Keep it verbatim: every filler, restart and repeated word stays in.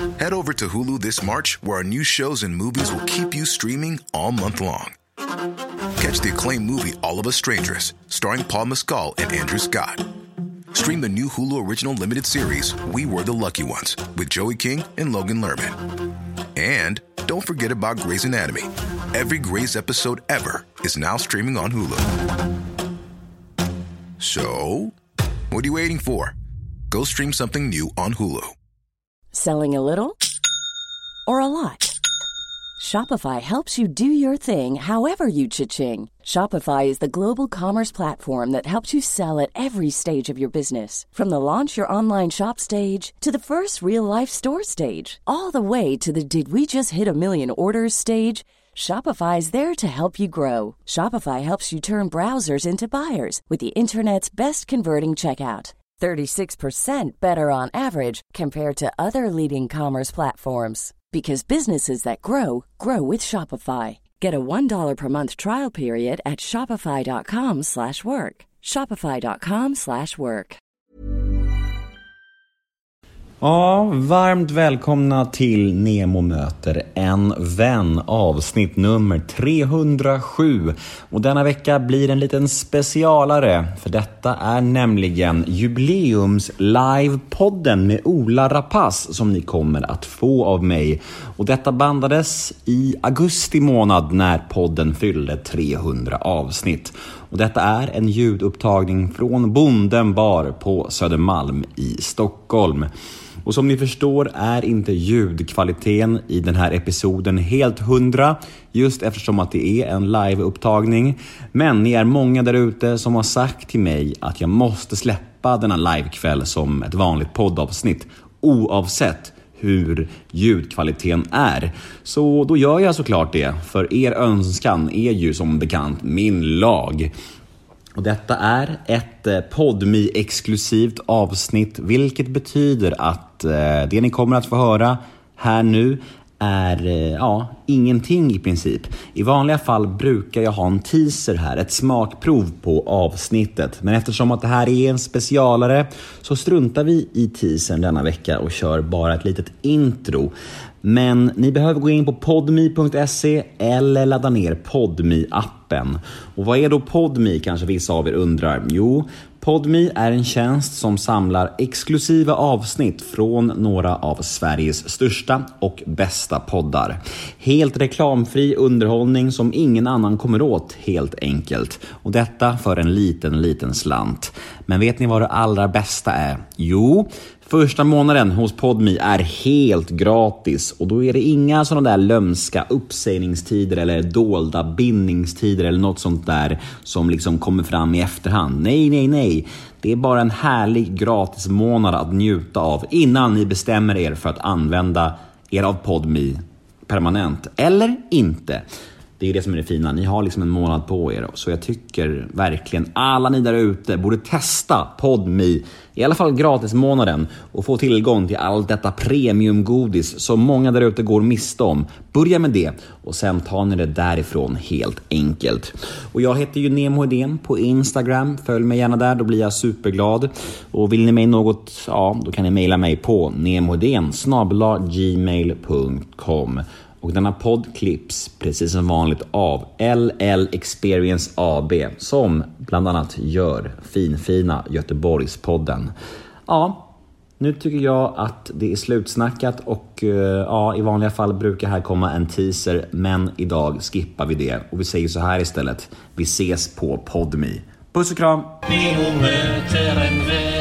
Head over to Hulu this March, where our new shows and movies will keep you streaming all month long. Catch the acclaimed movie All of Us Strangers, starring Paul Mescal and Andrew Scott. Stream the new Hulu original limited series We Were the Lucky Ones with Joey King and Logan Lerman. And don't forget about Grey's Anatomy. Every Grey's episode ever is now streaming on Hulu. So, what are you waiting for? Go stream something new on Hulu. Selling a little or a lot? Shopify helps you do your thing however you cha-ching. Shopify is the global commerce platform that helps you sell at every stage of your business. From the launch your online shop stage to the first real-life store stage, all the way to the did we just hit a million orders stage. Shopify is there to help you grow. Shopify helps you turn browsers into buyers with the internet's best converting checkout. thirty-six percent better on average compared to other leading commerce platforms. Because businesses that grow, grow with Shopify. Get a one dollar per month trial period at shopify.com slash work. Shopify.com slash work. Ja, varmt välkomna till Nemo möter en vän, avsnitt nummer trehundrasju. Och denna vecka blir en liten specialare, för detta är nämligen jubileums livepodden med Ola Rapace som ni kommer att få av mig. Och detta bandades i augusti månad när podden fyllde trehundra avsnitt. Och detta är en ljudupptagning från Bonden bar på Södermalm i Stockholm. Och som ni förstår är inte ljudkvaliteten i den här episoden helt hundra, just eftersom att det är en liveupptagning. Men ni är många där ute som har sagt till mig att jag måste släppa denna livekväll som ett vanligt poddavsnitt, oavsett hur ljudkvaliteten är. Så då gör jag såklart det, för er önskan är ju som bekant min lag. Och detta är ett Podme-exklusivt avsnitt, vilket betyder att eh, det ni kommer att få höra här nu är eh, ja, ingenting i princip. I vanliga fall brukar jag ha en teaser här, ett smakprov på avsnittet. Men eftersom att det här är en specialare så struntar vi i teasern denna vecka och kör bara ett litet intro. Men ni behöver gå in på podme punkt se eller ladda ner Podme-appen. Och vad är då Podme, kanske vissa av er undrar? Jo, Podme är en tjänst som samlar exklusiva avsnitt från några av Sveriges största och bästa poddar. Helt reklamfri underhållning som ingen annan kommer åt, helt enkelt. Och detta för en liten, liten slant. Men vet ni vad det allra bästa är? Jo, första månaden hos Podme är helt gratis, och då är det inga sådana där lömska uppsägningstider eller dolda bindningstider eller något sånt där som liksom kommer fram i efterhand. Nej, nej, nej. Det är bara en härlig gratis månad att njuta av innan ni bestämmer er för att använda er av Podme permanent eller inte. Det är det som är det fina. Ni har liksom en månad på er. Så jag tycker verkligen alla ni där ute borde testa Podme. I alla fall gratis månaden. Och få tillgång till allt detta premiumgodis som många där ute går miste om. Börja med det. Och sen tar ni det därifrån helt enkelt. Och jag heter ju Nemo Hedén på Instagram. Följ mig gärna där. Då blir jag superglad. Och vill ni mig något, ja, då kan ni mejla mig på nemoheden snabel-a gmail punkt com. Och denna podd klipps precis som vanligt av L L Experience A B, som bland annat gör finfina Göteborgspodden. Ja, nu tycker jag att det är slutsnackat och ja, i vanliga fall brukar här komma en teaser, men idag skippar vi det och vi säger så här istället. Vi ses på Podme. Puss och kram!